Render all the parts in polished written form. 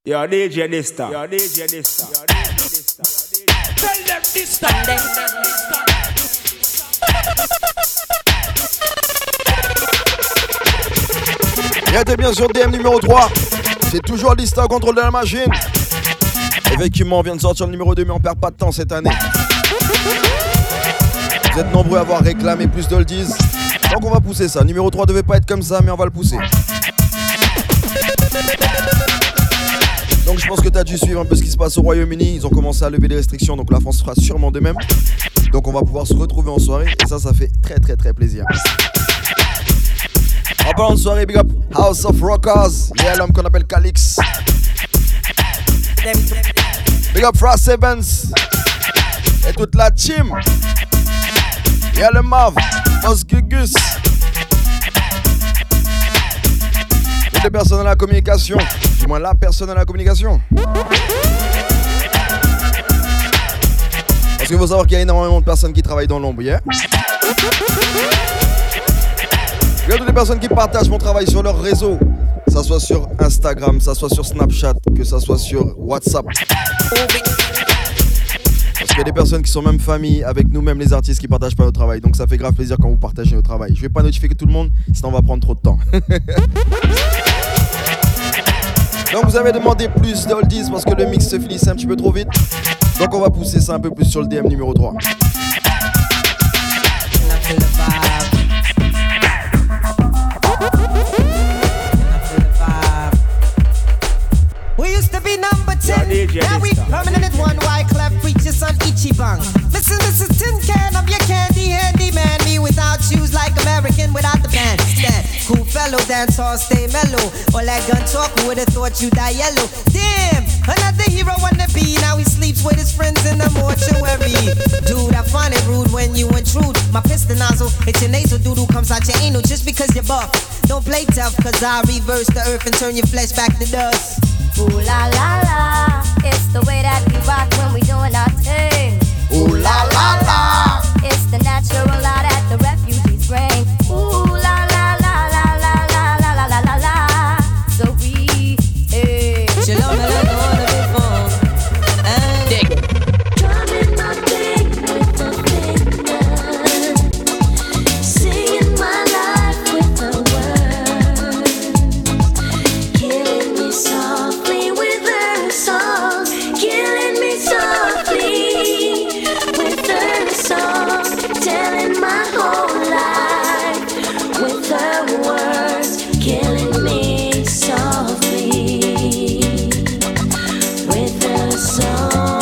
You're DJ Nista. You're DJ Nista. Tell them Nista. Et t'es bien sur DM numéro 3. C'est toujours Nista au contrôle de la machine. Effectivement, on vient de sortir le numéro 2, mais on perd pas de temps cette année. Vous êtes nombreux à avoir réclamé plus d'oldies. Donc on va pousser ça. Numéro 3 devait pas être comme ça, mais on va le pousser. Donc je pense que tu as dû suivre un peu ce qui se passe au Royaume-Uni. Ils ont commencé à lever les restrictions, donc la France fera sûrement de même. Donc on va pouvoir se retrouver en soirée. Et ça fait très très très plaisir. En parlant de soirée, big up House of Rockers. Il y a l'homme qu'on appelle Calix. Big up Frost Evans. Et toute la team. Il y a le Mav, Os Gugus. Toutes les personnes à la communication. Du moins la personne à la communication. Parce qu'il faut savoir qu'il y a énormément de personnes qui travaillent dans l'ombre, yeah? Il y a toutes les personnes qui partagent mon travail sur leur réseau. Que ça soit sur Instagram, que ça soit sur Snapchat, que ça soit sur WhatsApp. Parce qu'il y a des personnes qui sont même famille avec nous-mêmes les artistes qui partagent pas notre travail. Donc ça fait grave plaisir quand vous partagez notre travail. Je vais pas notifier tout le monde, sinon on va prendre trop de temps. Donc vous avez demandé plus d'oldies parce que le mix se finissait un petit peu trop vite. Donc on va pousser ça un peu plus sur le DM numéro 3. We used to be number 10, now we permanent one. Why clap preachers on Ichiban? Listen, this is Tin Can, I'm your candy handyman. Me without shoes like American without the band. Stand, cool fellow, dance all, stay mellow. All that gun talk, who would've thought you die yellow? Damn, another hero wanna be. Now he sleeps with his friends in the mortuary. Dude, I find it rude when you intrude. My piston nozzle, it's your nasal doodle comes out your anal just because you're buff. Don't play tough, cause I reverse the earth and turn your flesh back to dust. Ooh la la la, it's the way that we rock when we doing our thing. Ooh la la la, it's the natural law that the refugees bring. Ooh la la la la la la la la la la. So we, hey, Shalom, dig it. Drumming my thing with the finger, singing my life with the words, killing me softly with her song, killing me softly with her song, telling my whole life with her words, killing me softly with her song.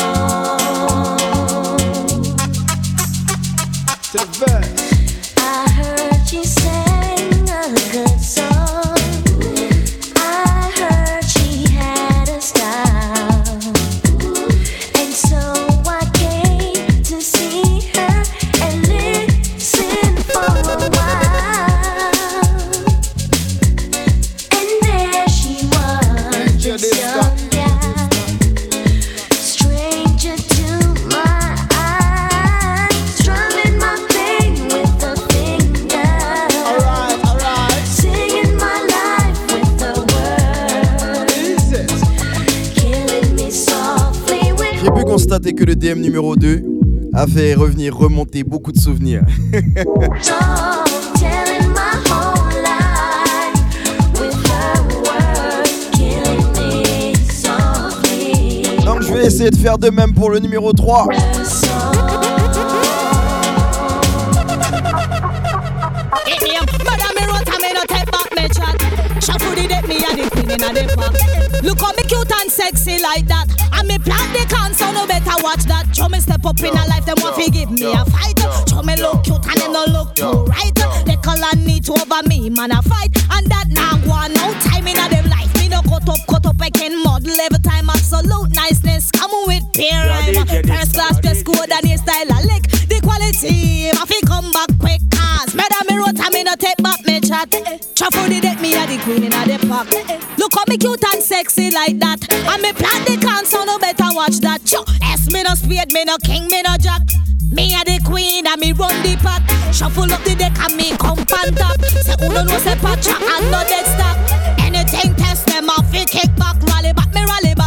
I heard she sang a good song. I heard she had a style. And so I came to see her and listen for a while. And there she was, this young gal, stranger to my eyes, strumming my thing with the finger, singing my life with the words, killing me softly with. J'ai pu constater que le DM numéro 2 a fait remonter beaucoup de souvenirs. Oh, telling my whole life with her words, killing me softly. Donc je vais essayer de faire de même pour le numéro 3. Her song. Mother me wrote and me no take back me chat. Shuffle the deck, me a the queen inna the pack. Look how me cute and sexy like that. And me plant the can, so no better watch that. Show me step up in a life, them want to give me a fight. Show me look cute and them no look too right. They call and need to over me, man a fight. And that now go on, no time inna them life. Me no cut up, I can model every time. Absolute niceness, come with peer rhyme. First class dress code and your style a lick. The quality, I fi come back quick. Cause murder me wrote and me no take back me chat. Shuffle the deck, me a the queen inna the pack. Look how me cute and sexy like that. And me plant the can, so no better watch that. S me no spade, me no king, me no jack. Me a the queen and me run the pack. Shuffle up the deck and me come on top. Say who don't know say Pacha and no dead stop. Anything test them off, we kick back, rally back, me rally back.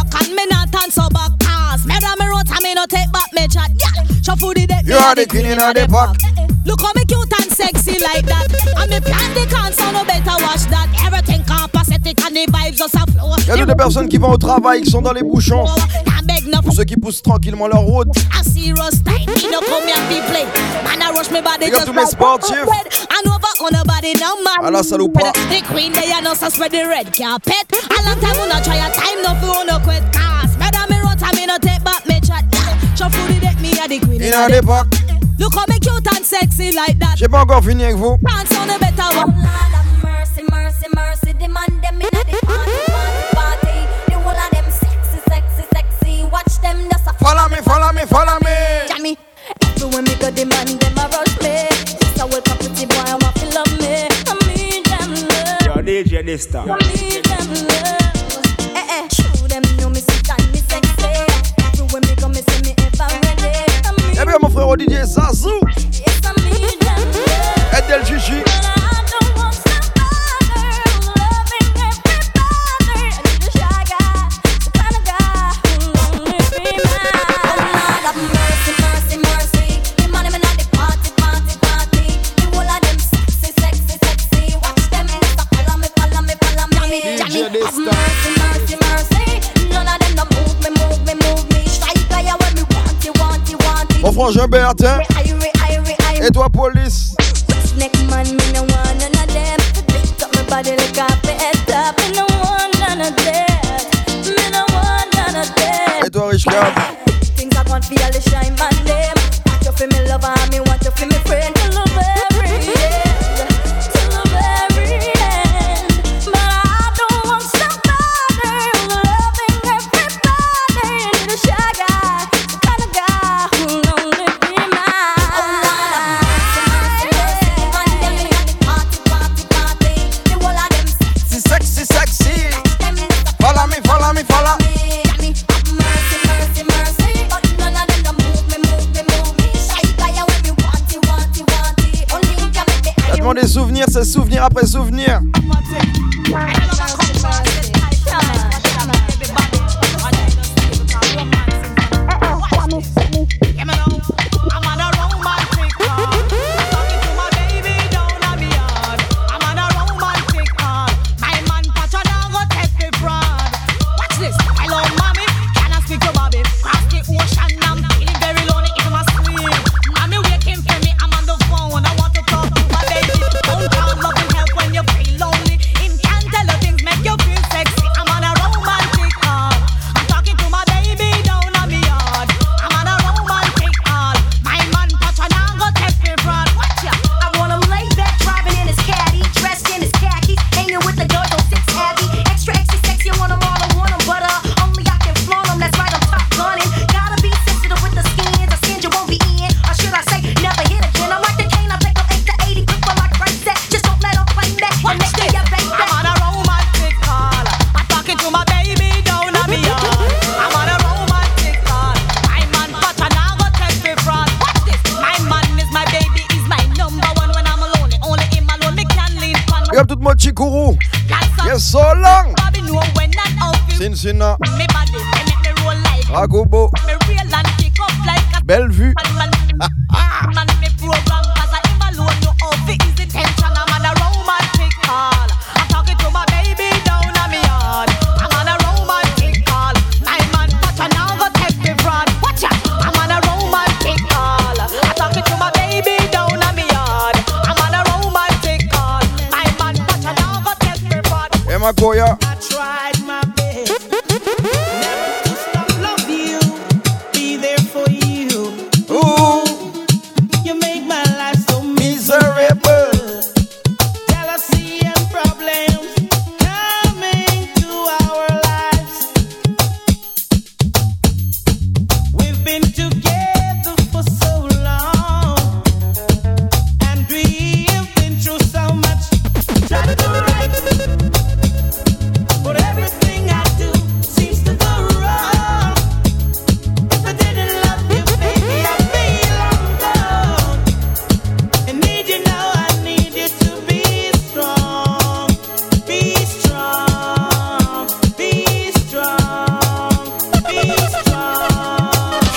are the queen in the park. Look how me cute and sexy like that. And me plan the cancer, no better watch that. Everything capacitic and the vibes just a flow. Y'a des personnes qui vont au travail, qui sont dans les bouchons. Pour ceux qui poussent tranquillement leur route. I see Ross time, he no come here to play. Man, I rush me body just tous mes sportifs. And over on a body now, man. À la salle ou pas. The queen, they are not so spread the red carpet. A long time, we not try a time, no fool, no quit. Cause, madam, me rot, I me no take back me chat. Show food, it me a the queen in the park. Look how me cute and sexy like that. J'ai pas encore fini avec vous. Dance on a better one. Lord have mercy, mercy, mercy. The man them in the party. The whole of them sexy, sexy, sexy. Watch them just a follow me, follow me, follow me. Jammy. Everywhere me go, the man them a rush me. Just a welcome pretty boy, I want to love me. I need them love. Yo, DJ Dysta. I need them love. Show them know me sit and me sexy. Everywhere me go, me see me if I'm ready. Eh bien mon frère DJ Zazou. Yes, I need them love. Edel Chichi. Mon frangin Bertin. Et toi police. Et toi Rich Cab. Things I want feel the shine man them. Want you feel me lover, me want you feel me friend. Till the very end, till the very end. But I don't want somebody loving everybody. Need a shy guy, the kind of guy who'll only be mine. Oh Lord have mercy, mercy, man them in the party, party, party. The whole of them Sexy, sexy. Follow me, follow me, follow me. Des souvenirs, c'est souvenir après souvenir. Chikuru. Yes, so long. Cincinnati. Ragobo. Bellevue. Goya. I tried my best never to stop love you, be there for you. Ooh, you make my life so miserable. Jealousy and problems coming to our lives. We've been together for so long, and we've been through so much. Try to do right.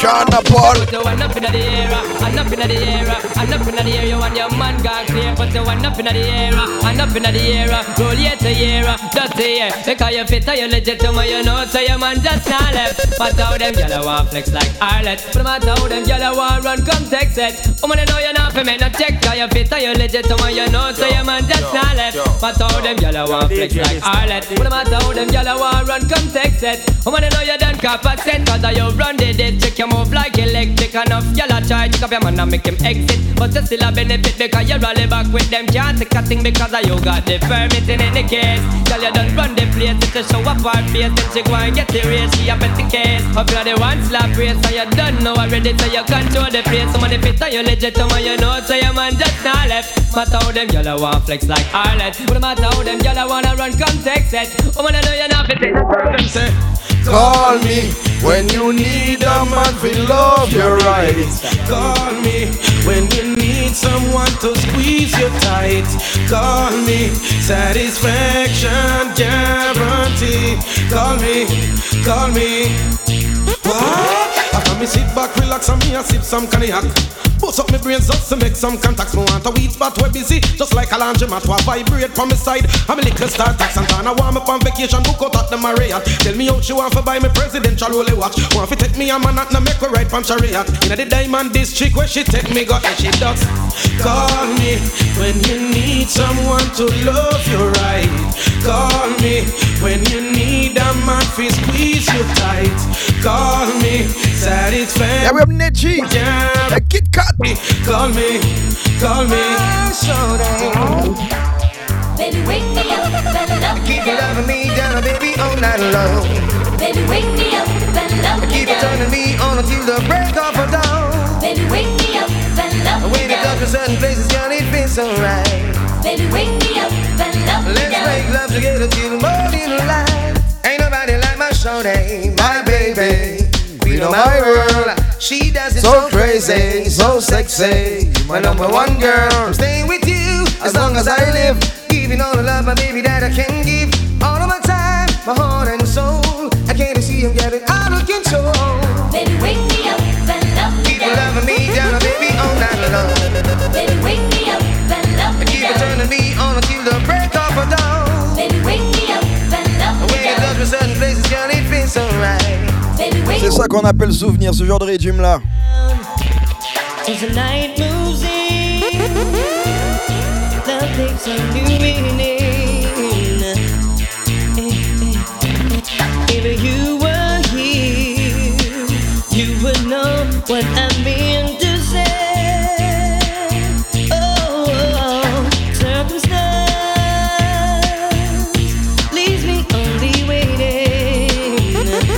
Ghana Paul. Put the one up in the air, and up in the air, and up in the air. You and your man gone clear. Put the one up in the air, and up in the air. Roll year to year, just the year. Because you fit, you legitimate, you know. So your man just not left. But how them gyal want flex like Arlet. But matter how them gyal want run, come text it. Woman, you know you not for me, no check. Cause you fit, you legitimate, you know. So your man just not left. But how them gyal want flex like Arlet. But matter how them gyal want run, come text it. Woman, you know you done cap a cent. Cause you run the dead, check your move like electric. Enough gyal a try, pick up your man and make him exit. But you still a benefit because you rally back with them. Can't take a thing because you got the permit in any case. Girl, you done run the place, it's a show up our face. Then she go and get the race, she a bet the case. Up you the one slap race, and you done know already. So you control the place. Some of the fit and you legit, some of you know. So your man just not left. Matter how them gyal want flex like Arlet. But no matter how them gyal wanna run, come text it. Woman, I know you're not fit. Them say, call me when you need a man to love you right. Call me when you need someone to squeeze you tight. Call me, satisfaction guarantee. Call me, call me. What? After me sit back, relax and me a sip some cognac. Bust up my brains just to make some contacts. Me want a weed spot where busy, just like a laundromat. To vibrate from my side, I'm a little star tax. And I want me on vacation, book out at the Marriott. Tell me how she want to buy me presidential rolly watch. Want to take me a man and make her ride from chariot. In the diamond district where she take me, got and she does. Call me when you need someone to love you right. Call me when you need a man to squeeze you tight. Call me, satisfaction. Yeah, we have Neji. Yeah, a Kit Kat. Call me, call me. Baby, wake me up and love me. Keep loving me down, baby, all night long. Baby, wake me up and love me. Keep turning me on until the break of dawn. Baby, wake me up and love me. When it comes to certain places, girl, it feels so right. Baby, wake me up and love me. Let's make love together till morning light. Ain't nobody like my shorty, my baby. Queen of my world. She does it so crazy, so sexy. My number one girl. I'm staying with you as long as I live. Giving all the love, my baby, that I can give. All of my time, my heart and soul. I can't see him getting out of control. Baby, wake me up and love me. Keep loving me down, baby, all night long. Baby, wake me up and love me. Keep turning me on until the break of dawn. Baby, wake me up and love me. When you touch with certain places, girl, it feels so right. C'est ça qu'on appelle souvenir, ce genre de régime là. As the night moves in, love takes a new meaning. If you were here, you would know what I mean to say. Oh, circumstance leaves me only waiting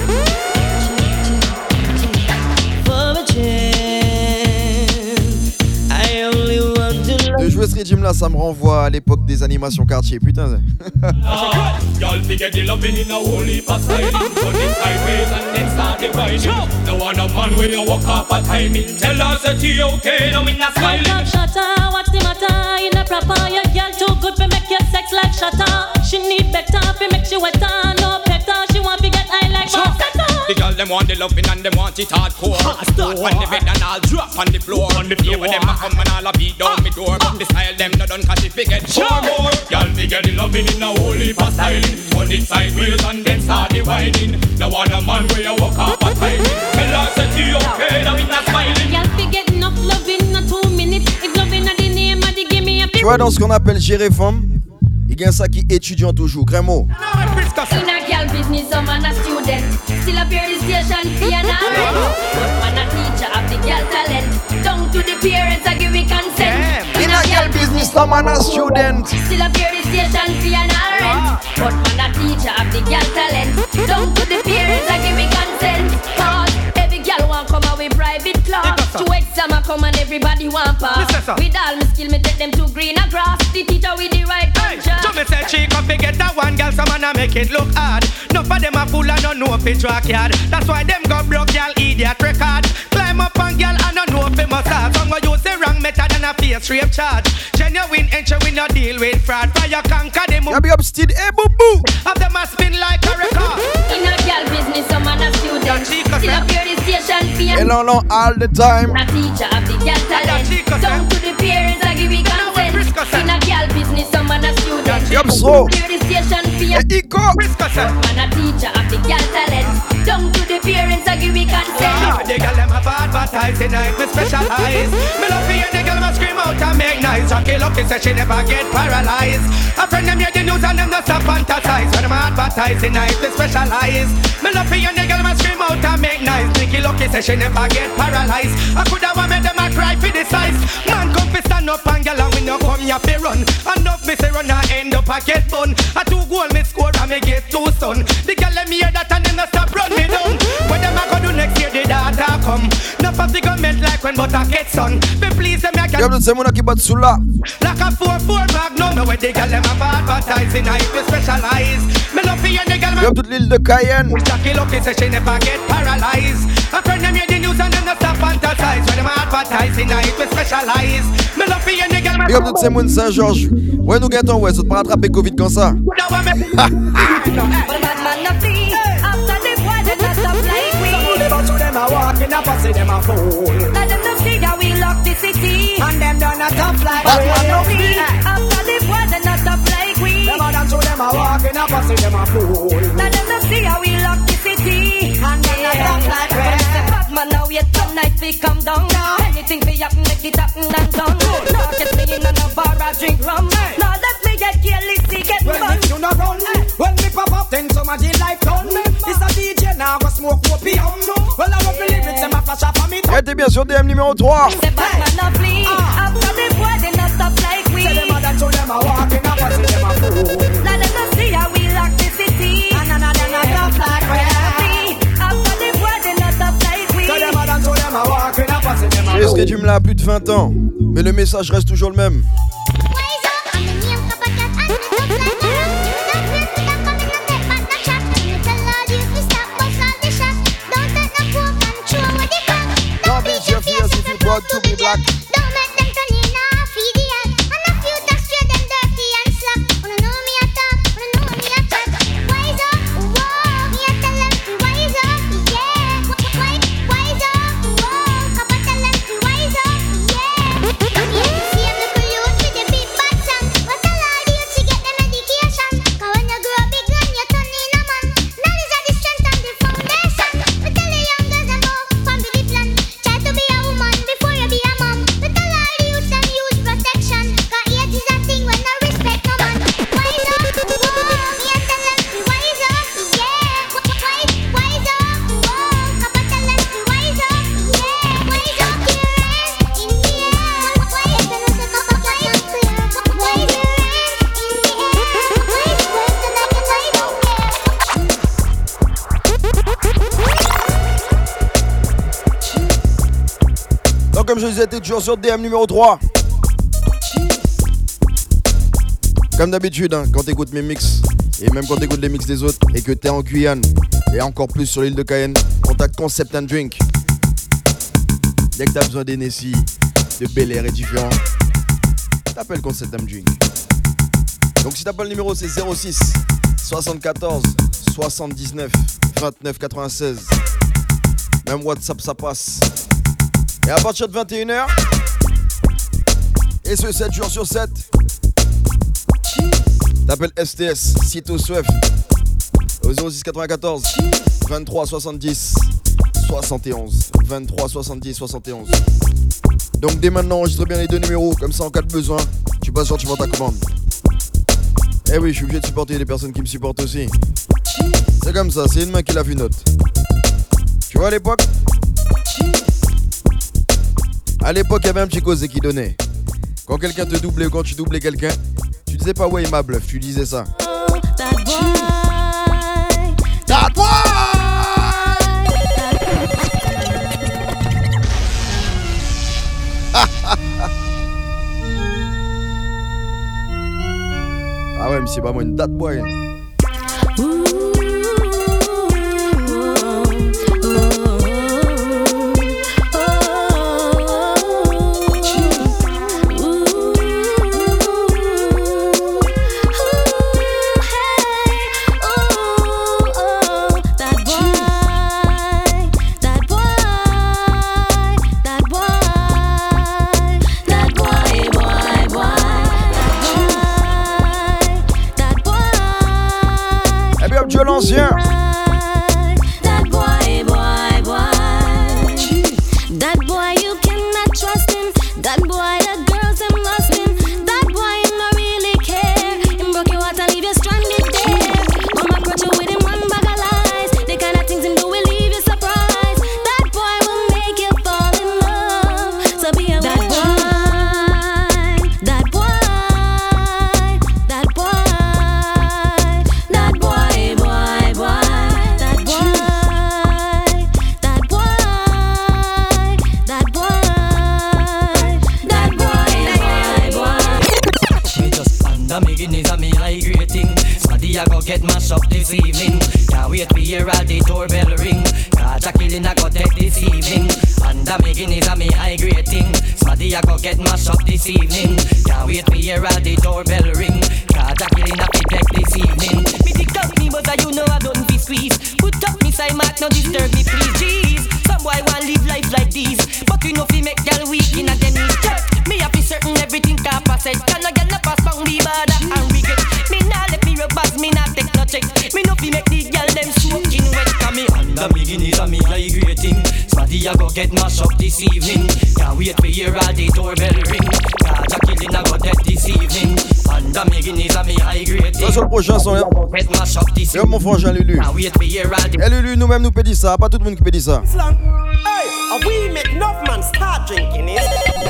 for a chance. I only want to love. De jouer ce régime là, ça me renvoie à l'époque des animations quartier, putain. Y'all forget the loving in a whole heap of styling. Turn it sideways and then start dividing. No one a man where you walk up a timing. Tell us that you okay, now we not smiling. Love shutter, what's the matter? In a proper, your girl too good for make your sex like shutter. She need better, for make she wetter, no better. She want to get high like Rosetta. The girl them want the loving and them want it hardcore. Start on the bed and I'll drop on the floor. Here when them a come and I'll beat down me door. But the style them no done cause if we get four more. Y'all forget the loving in a whole heap of styling. Turn it sideways and then start dividing. No one a man where you walk up a timing. Tell us that you okay, now we not smiling. Y'all forget enough loving in 2 minutes. If loving are the name of the give me a Tu vois, dans ce qu'on appelle gérer femme, il y a ça qui étudiant toujours, Grémo. in a girl business, some man a student. Still a pure station fee and all rent. But man a teacher of the girl talent. Down to the parents a give me consent. In a girl business, some man a student. Still a pure station fee and all rent. But man a teacher of the girl talent. Down to the parents a give me consent. Cause every girl want come away private class. To exam a come and everybody want pass. With all my skill me take them to greener grass. The teacher with the right contract. So me say she come fi get that one girl, some man a make it look hard. None of them a fool and don't know fi track yard. That's why them go broke girl idiot record. Climb up on girl and don't know fi massage. Some go use the wrong method and a face rape charge. Genuine entry we no deal with fraud. Fire conquer them. Y'a big up Steed, hey boo boo. Have them a spin like a record. In a girl business, some man a student. Still a pure station fee and Elon all the time. A teacher of the girl talent. Down to the parents, I give you consent. In a girl business, some man a student. Yup, so. Clear the station for your man a teacher of the girl talent. Down to the parents, I give you consent. The girl them have advertising night, me specialize. Me love for you, the girl must scream out and make noise. Rocky lucky say she never get paralyzed. A friend them hear the news and them not stop fantasize. When them advertising night, me specialize. Me love for you, the girl must scream out and make noise. Nicky lucky say she never get paralyzed. I coulda want make them a cry for the size. Man come fi stand up and girl and we no come here fi run. Enough me say run and end up a get bun. A 2 goal me score and me get 2 son. The girl them hear that and them not stop run me down. When them a go do next year the data come. Enough of the government like when butter gets on. Be please them Y'a de ces mona qui battent sous là. Like a 4-4 magnum. No way the girl them have advertising. I be specialize. Me love for you the girl. Y'a toute l'île de Cayenne. Jackie lucky say she never get paralyzed. A friend them hear the news and them not stop fantasize. When them advertising I be specialize. Me love for you the girl. Y'a toutes ces mona Saint-Georges. Ouais nous gâtons ouais, ça te pas rattraper Covid comme ça. I walk in a pussy, them a fool. Let them know see how we lock the city. And them done a tough like we. After the war, they not tough like we. Them a done to them a walk in a pussy, them a fool. Let them know see how we lock the city. And them not tough like we. Bad man now wait till night we come down. Anything we happen, make it happen and done. Now get me in a bar, I drink rum. Now let me get careless, get fun. When you not run, when me pop up, then somebody like done. It's a DJ now, go smoke opium. Well, I love the lyrics, them a flash up on me. Elle était bien sur DM numéro 3. C'est bad man lovely. After the war, they not stop like we. Say them a dance to them a walking up and see them a fool. Now let us see how we lock the city. And them a stop like we. After the war, they not stop like we. Say them a dance to them a walking up and see them a fool. Je sais que tu me l'as à plus de 20 ans, mais le message reste toujours le même. To be black. Don't make them turn in a feed the ad. And a few talk straight, them dirty and slack. Wanna know me a talk, wanna know me a chat. Wise up, whoa, me a tell them to wise up, yeah. Wise up, whoa, Kappa tell them to wise up, yeah. Come here to see them look youth with the big bad song. But tell all the youth to get them education. Cause when you grow big and you turn in a man, knowledge is the strength and the foundation. We tell the young girls and go, family plan. Try to be a woman before you be a mom. We tell all the youth and use protection. Cause age is a thing when no respect no man. Wise up, whoa, me a tell them to wise up, yeah. Wise up, whoa, Kappa tell them to wise up, yeah. Wise up, your hands in the air. Wise up, no say Kappa wise up, wise your hands in the air. Wise like a night out Donc comme je disais, t'es toujours sur DM numéro 3. Comme d'habitude, hein, quand t'écoutes mes mix, et même quand t'écoutes les mix des autres, et que t'es en Guyane, et encore plus sur l'île de Cayenne, contacte Concept and Drink. Dès que t'as besoin d'Hennessy, de Bel Air et différents, t'appelles Concept and Drink. Donc si t'appelles le numéro, c'est 06 74 79 29 96. Même WhatsApp, ça passe. Et à partir de 21h, et ce 7 jours sur 7, t'appelles STS, Cito Swef, au 06 94 23 70 71. 23 70 71. Donc dès maintenant, enregistre bien les deux numéros, comme ça en cas de besoin, tu passes sur tu vends ta commande. Eh oui, je suis obligé de supporter les personnes qui me supportent aussi. C'est comme ça, c'est une main qui lave une autre. Tu vois à l'époque, il y avait un petit causé qui donnait. Quand quelqu'un te doublait ou quand tu doublais quelqu'un, tu disais pas ouais il m'a bluff, tu disais ça. That boy. Ah ouais mais c'est pas moi une that boy. Under me Guinness and me high rating. Somebody I go get mashed up this evening. Can't wait to hear all the doorbell ring. Cause a killing I go take this evening. Under me Guinness and me high rating. Somebody I go get mashed up this evening. Can't wait to hear all the doorbell ring. Cause a killing I go take this evening. Me dick up me but you know I don't be squeeze. Put up me side mark, no disturb me please. Jeez, some boy want live life like this, but we know fi make girl weak in a them knees. Me have be certain everything can pass it. Can a girl a pass bang me bada and regret. Me nah let me rub bass, me nah take no check. Me no fi make the girl them soaking wet. Cause me under me Guinness and me high rating. Somebody a go get mashed up this evening. Can't wait to hear all the doorbell ring. Cause a killing a go dead this evening. Under me Guinness and me high rating. Ça sur le prochain son là. Yo mon frangin Lulu. Et Lulu nous-mêmes nous pédit ça, pas tout le monde qui pédit ça. Hey, we make enough man start drinking it.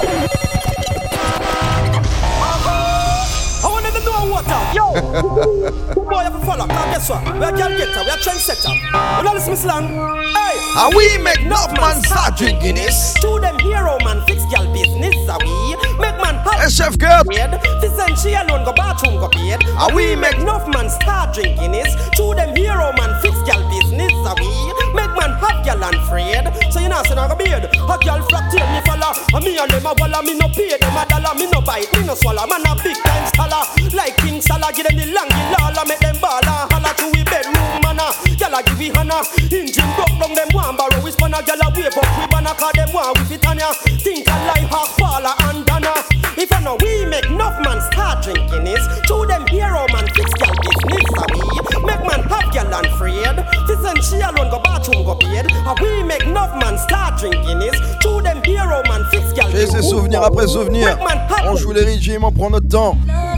I want to know what up. Yo, who boy have a follow? Cause guess what? We are girl getter, we are trendsetter. You know listen slang. Hey, we make enough man start drinking this. To them hero man fix girl business. We make man hey, chef girl. This and she alone go bathroom go paid. We make enough man start drinking this. To them hero man fix girl business. We make man have girl and afraid. So you know say I go beard. A girl flat tail me follow. And me and them a walla me no pay them a dollar. Me no bite, me no swallow. Man a big time scholar. Like King Salah, give them the long lala. Make them baller. Holla to we bedroom manna. Gyal a give we hana. Engine broke down them one barrow. We span a gyal a wave up. We banna cause them one with it on ya. Think a life half Paula and Dana. If you know we make enough man start drinking this. To them hero man fix gyal business. We make man have gyal and afraid. This and she alone go bathroom go paid. We make enough man start drinking this. To them hero man fix gyal business. J'ai ces souvenirs après souvenirs. On joue les régimes, on prend notre temps.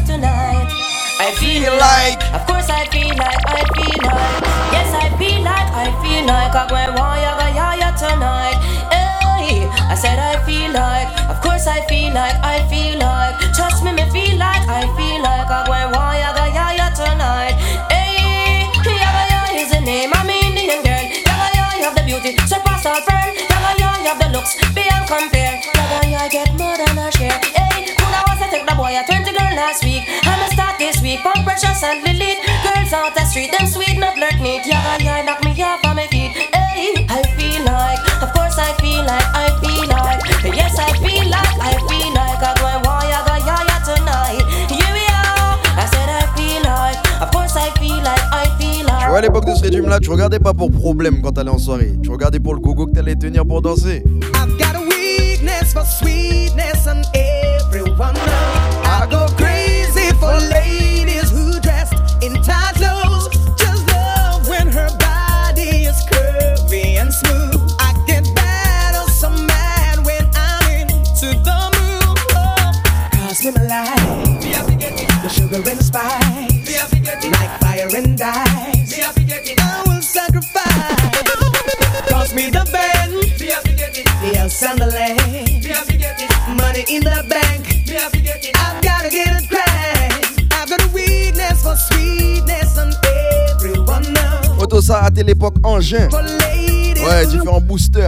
I feel like, of course I feel like, yes I feel like, I go want ya go ya tonight. Hey, I said I feel like, of course I feel like, trust me feel like, I go want ya go ya tonight. Hey, ya is the name, I'm Indian girl. Ya you have the beauty, surpass all friend. Ya you have the looks, beyond compare. Ya get more than a share. Hey, could I was to take the boy a 20 girl last week. I'ma start this week, Pump Precious and Lilith. Girls out the street, them sweet, not flirt neat. Yeah, knock me off on my feet. Hey, I feel like, of course I feel like, yes I feel like, I go and want ya go ya tonight. Here we are, I said I feel like, of course I feel like, Tu vois à l'époque de ce régime là, tu regardais pas pour problème quand t'allais en soirée. Tu regardais pour le gogo que t'allais tenir pour danser. I've got a weakness for sweetness and everyone knows. I go crazy for ladies who dressed in tight clothes. Just love when her body is curvy and smooth. I get bad or so mad when I'm into the mood. Cause in my life, the sugar and the spice, like fire and ice. I will sacrifice. Cost me the band, the house and the land, money in the bank. I've gotta get it right. I've got a weakness for sweetness and everyone knows. Auto ça à l'époque engin. Ouais, différents boosters.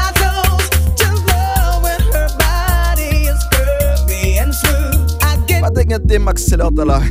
Pas t'inquiéter Max Seller t'as là.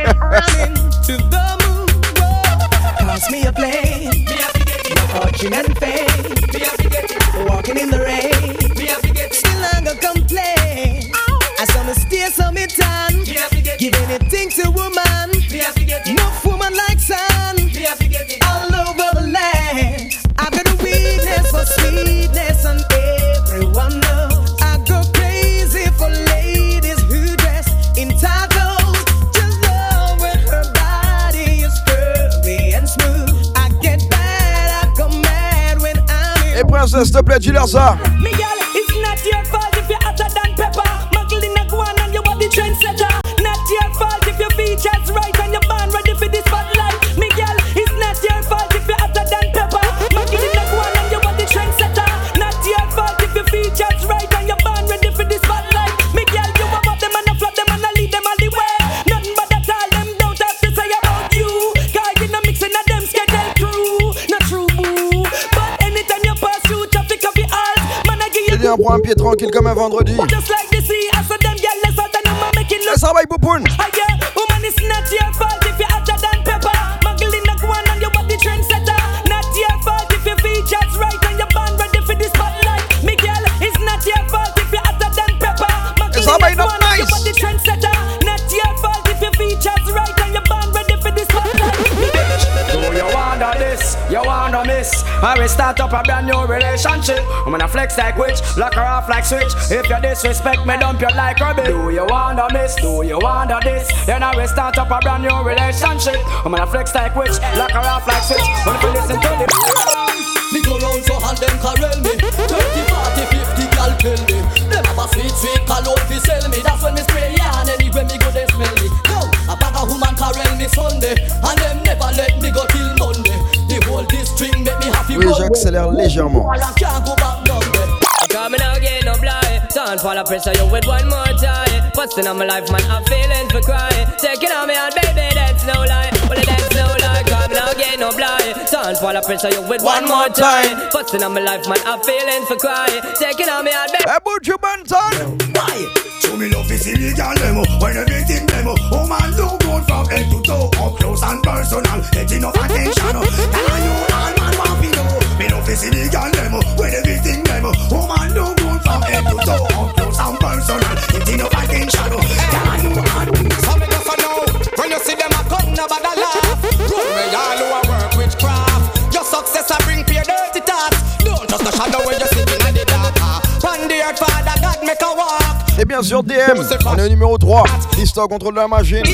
Pass me a plane, fortune and fame, walking in the rain, still I go complain. I saw me steer, saw me tan, give anything to woman, enough woman like sun, all over the land. I've got a weakness for sweetness and everyone knows. I go crazy for ladies who dress in tight clothes. Just love when her body is curvy and smooth. I get bad, I go mad when I'm in. Hey princesse, s'il te plaît, dis-leur ça. Miguel, it's not your fault if you're hotter than pepper. Muggle in a guan and you are the trendsetter. Not your fault if your features right and you're born ready for this spotlight. Miguel, it's not your fault if you're hotter than pepper. Muggle in a guan and you are the trendsetter. Not your fault if your features right and you're born ready for this spotlight. Miguel, you are up them and I flop them and I lead them all the way. Nothing but that all them don't have to say about you. Cause you're not mixing of them schedule crew. Not true boo. But anytime you pass through traffic of the alls, man I give you. J'ai dit un prend un pied tranquille comme un vendredi. Just like the sea, I saw them girl less than them make it look. Ça va, Poupoune. Yeah, woman And it's not your fault if you're hotter than pepper. Magdalena Guan and your body trendsetter. Not your fault if your features right and your band ready for the spotlight. Miguel, it's not your fault if you're hotter than pepper. Magdalena Guan and your body trendsetter. Not your fault if your features right and your band ready for the spotlight. Do you wonder this? You wanna miss? I will start up a brand new relationship. I'm gonna flex like witch, lock her off like switch. If you disrespect me, dump you like rubbish. Do you wanna miss? Do you wonder this? Then I will start up a brand new relationship. I'm gonna flex like witch, lock her off like switch. When you listen to the me go round so hand them carel me 30, 40, 50 gal kill me. Them have a sweet, sweet cologne fi sell me. That's when me spray yarn anywhere me go they smell me. Yo, a bag of woman carel me Sunday. And them never let me go till Monday. The whole district make me happy. Oui, j'accélère légèrement. Coming out again, no blind. Don't fall a pressure you with one more time. Busting on my life, man, I'm feeling for crying. Taking on me out, baby, that's no lie. Well, that's no lie. Coming out again, no blind. Don't fall a pressure you with one more time. Busting on my life, man, I'm feeling for crying. Taking on me out, baby. About you, Banton. Why? Show me love is illegal demo. When everything demo. Oh man, do good from head to toe. Up close and personal. Get enough attention. Tell you all man want to know. Me love is illegal demo. When everything demo. Oh man, do good from head to toe. Up close and personal. Get enough attention. Tell you all. So me just know. When you see them a come, nobody laugh. Run me all who a work with craft. Your success a bring for your dirty thoughts. Don't just a shadow when you sitting in the dark. One day your father God make a walk. Et bien sûr DM, on est au numéro 3. Listo contrôle de la machine.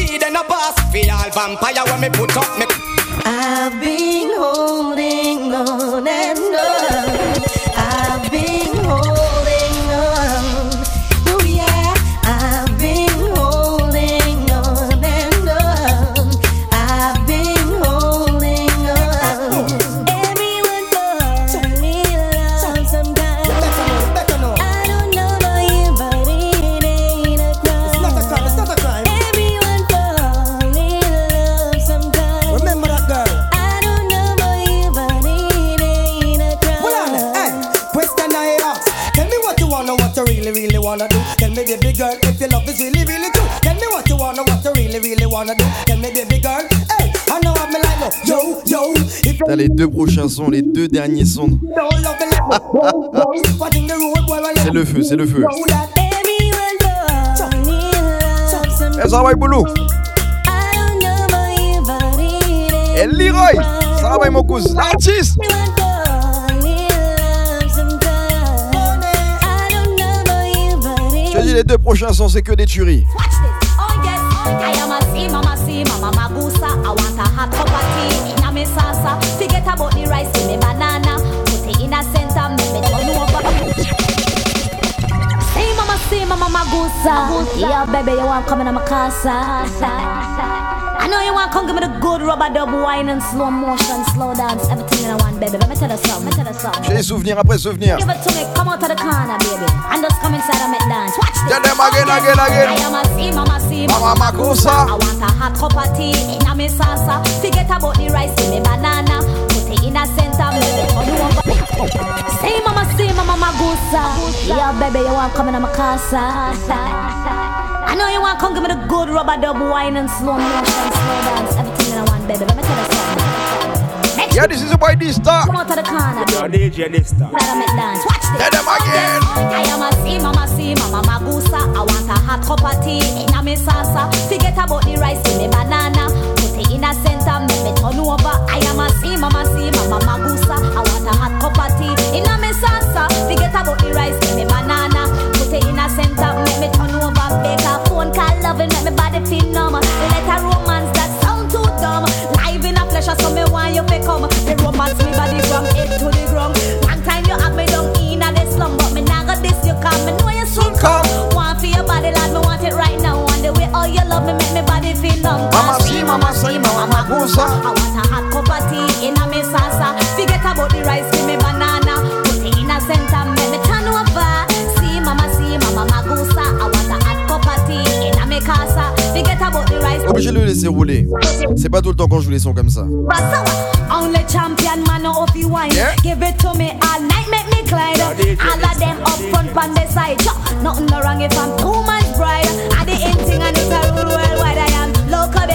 I've been holding on and on. I've been holding on. Oh yeah, I've been holding on and on. I've been holding on. Everyone falls in love sometimes. I don't know about you, but it ain't a crime. It's not a crime. It's not a crime. Everyone falls in love sometimes. Remember that girl. I don't know about you, but it ain't a crime. Hold on, hey. Question I ask. Tell me what you wanna, what you really, really wanna do. Tell me, baby girl, if your love is really, really true. Tell me what you wanna, what you really, really wanna do. Tell me, baby girl, hey. I know I'm like no. Yo, yo. T'as les deux prochains sons, les deux derniers sons. C'est le feu, c'est le feu. Et ça va, Boulou. Et Leroy, ça va, mon cousin, l'artiste. Je te dis, les deux prochains sons, c'est que des tueries. I am a see, mama magusa. I want a hot cup of tea in a me salsa. Forget about the rice in me banana. Put it in a center, make me turn over. See, mama magusa. Yeah, baby, you want come in my casa. I know you want come give me the good rubber dub wine and slow motion, slow dance, everything in one, baby. Let me tell you something. J'ai des souvenirs après souvenirs. Give it to me, come out of the corner, baby, and just come inside and make dance. Watch this. Tell them again. I am a see, mama magusa. I want a hot cup of tea in a me salsa. Forget about the rice in me banana. Put it in a center, make it turn over. See, mama magusa. Yeah, baby, you want come in my casa. I know you want come give me the good rubber dub wine and slow motion, slow dance, everything in one, baby. Let me tell you something. Yeah, this is a boy D-Star. Come out of the corner, baby. DJ D-Star. Let me dance. Watch this. Tell them again. I am a see, mama magusa. I want a hot cup of tea in a me salsa. Forget about the rice in me banana. Put it in a center, make me turn over. I am a see, mama magusa. I want a hot cup of tea in a me salsa. Forget about the rice in me banana. Put it in a center, make me turn over. Make a phone call, loving, make me body feel numb. Let a romance that sound too dumb. Live in a pleasure, so me want you to come. The romance me body from head to the ground. One time you have me down in a the slum, but me nah got this you come. Me know you soon come. Want for your body, lad, me want it right now. And the way all you love me, make me body feel numb. Mama magusa. I want a hot cup of tea in a me salsa. Forget about the rice, give me banana. Put it in a center, make me turn over. See, mama magusa. I want a hot cup of tea in a me casa. Forget about the rice. Obligé de le laisser rouler. C'est pas tout le temps qu'on joue les sons comme ça. Only champion man of you wine. Yeah. Give it to me all night, make me glide. All of them up front on the side. Nothing no wrong if I'm too much bride. I the in thing and it's a rule worldwide. I am local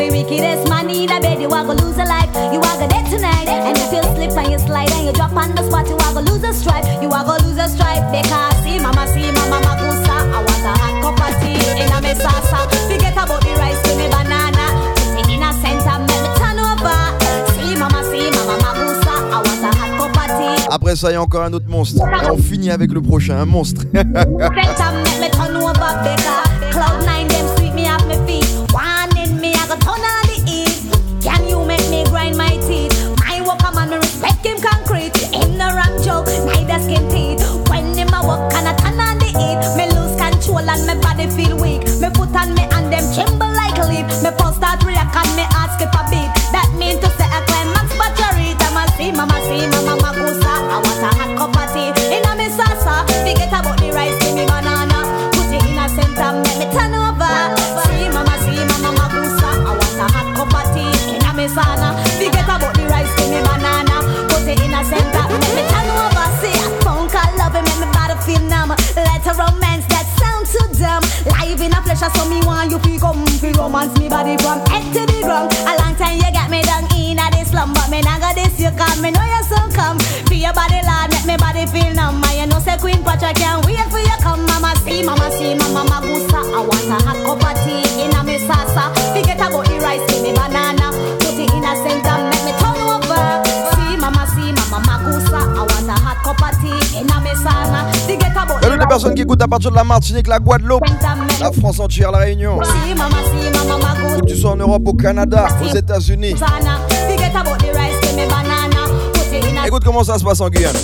the wickedest man in a bed, you are gonna lose a life. You are gonna dead tonight. And if you slip and you slide and you drop on the spot, you are gonna lose a stripe. You are gonna lose a stripe. Because see mama magusa. I want a hot cup of tea in a me salsa. Forget about the rice to me banana. Put it in a center, make me turn over. See mama magusa. I want a hot cup of tea. Après ça, il y a encore un autre monstre. Et on finit avec le prochain, un monstre. Center, make me turn over, Becca. Cloud9, them sweep me off my feet. One in me, I got turn on the heat. Can you make me grind my teeth? My walker man, me respect him concrete. Him no rap joke, neither skin teeth. When him a walk and I turn on the heat, me lose control and my body feel weak. Me foot on me and them tremble like a leaf. Me pulse start react and me ask if a beat. That mean to say I climax battery. Mama magusa. I want a hot cup of tea in a me salsa. Forget about the rice, give me banana. Put it in a center, make me turn over. See mama magusa. I want a hot cup of tea in a me sauna. Forget about the rice, give me banana. Put it in a center, make me turn over. See a phone call, love it, make me body feel numb. Let a romance that sound too dumb. Live in a flesh, so me want you feel come, feel romance me body from head to the ground. A long time you got me down in a this slum, but me not got this you come. Me know you so come. Feel your body lad, make me body feel numb. And you know say Queen Patrick can't wait for you come. Mama magusa. I want a hot cup of tea in a me salsa. Forget about the rice, give me banana. Put it in a center, make me turn over. See mama magusa. I want a hot cup of tea in a me sauna. Forget about the Salut les personnes qui écoutent à partir de la Martinique, la Guadeloupe, la France entière, la Réunion. See mama magusa. Que tu sois en Europe, au Canada, aux États-Unis. Forget about the rice, give me banana. Put it in a Écoute comment ça se passe en Guyane.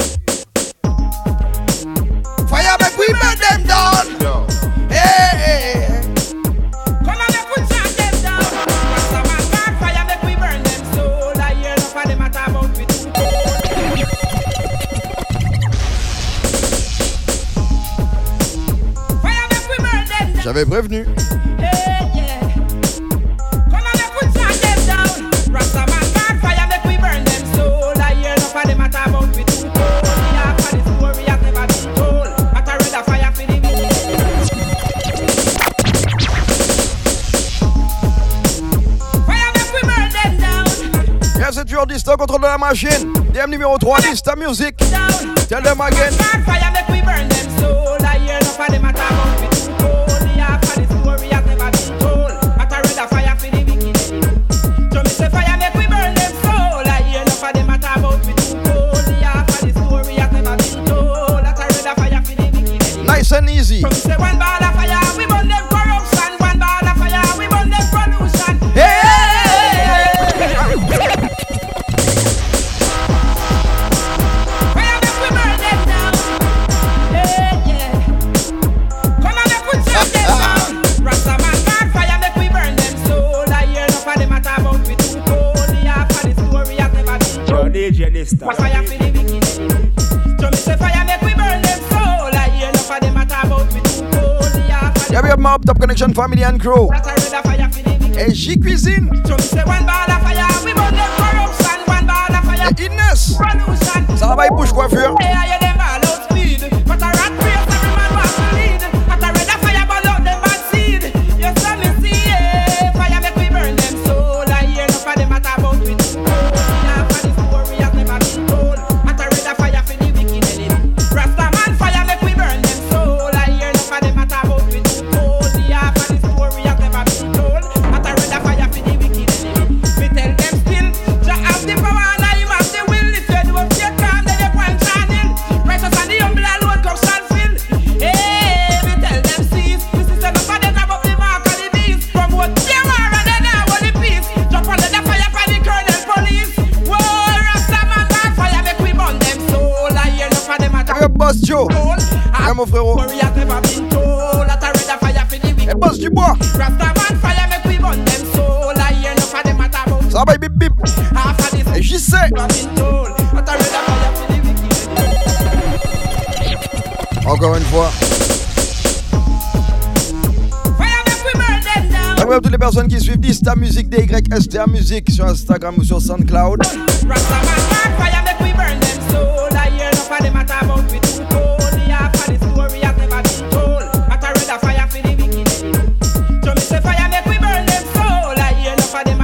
Fire make we burn them down. Hey. Come on, make we shut them down. Rasta man God fire make we burn them soul. I hear enough of them a talk about we too. Fire make we burn them down. J'avais prévenu. Hey, yeah. Come on, make we shut them down. Rasta man God fire make we burn them soul. I hear enough of them a talk about we too. Yeah, for the story has never been told. But I read a fire for the village. C'est toujours Dista contrôle de la machine. DM numéro 3, Dista Music. Tell them again. Fire make we burn them soul. I hear enough of them a talk about me too cold. Yeah, for the story has never been told. But I read a fire for the wicked. So me say fire make we burn them soul. I hear enough of them a talk about me too cold. Yeah, for the story has never been told. But I read a fire for the wicked. Nice and easy. So me say one ball of fire, we burn them corruption. One ball of fire, we burn them pollution. Hey! DJ Dista. Fire for the wicked. So me say fire make we burn them soul. I hear enough of them a talk about me too cold. Yeah, we have my Top Connection family and crew. Et J Cuisine. So me say one ball of fire, we burn them corruption. One ball of fire. Et Inès. Ça va, il bouge coiffure. Hey, I hear them all out speed. But a rat race, every man wants to lead. But a red of fire burn out them bad seed. You saw me see, yeah. Fire make we burn them soul. I hear enough of them a talk about me too cold. Yeah, for the story has never been told. But a red of fire for the wicked in it. Rasta man fire make we burn them soul. I hear enough of them a talk about me too cold. Yeah, for the story has never been told. But a red of fire for the wicked in it. Me tell them still, Jah have the power and I have the will. If you do up your calm, then you point shining. Righteous and the humble alone come shall fill. Hey, me tell them cease. This is enough of them grab up the mark of the beast. From what they were and then now what the peace. Jump under the fire for the colonel police. Whoa, Rasta man God fire make we burn them soul. I hear enough of them at Le boss Joe. Et mon frérot. story has never been told. That a red of fire for the wicked. Et boss du bois. Rasta man fire make we burn them soul. I hear enough of them at about. Ça va, bip bip. Half of this Et j'y sais. Encore une fois. Salut à toutes les personnes qui suivent Dista Music, DYSTA Music sur Instagram ou sur SoundCloud. Fire make we burn them soul. I hear enough of them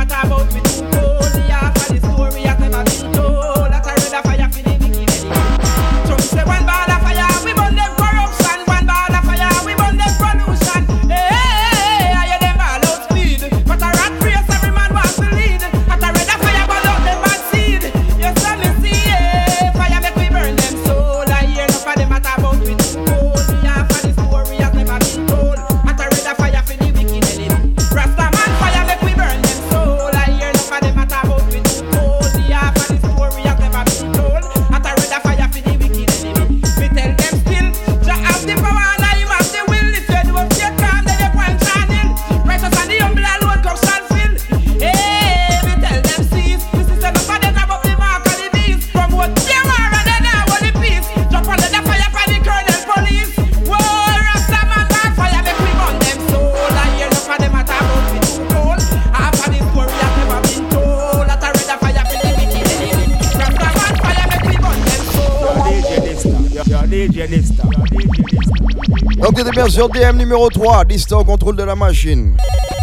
Donc t'étais bien sur DM numéro 3, Dista au contrôle de la machine.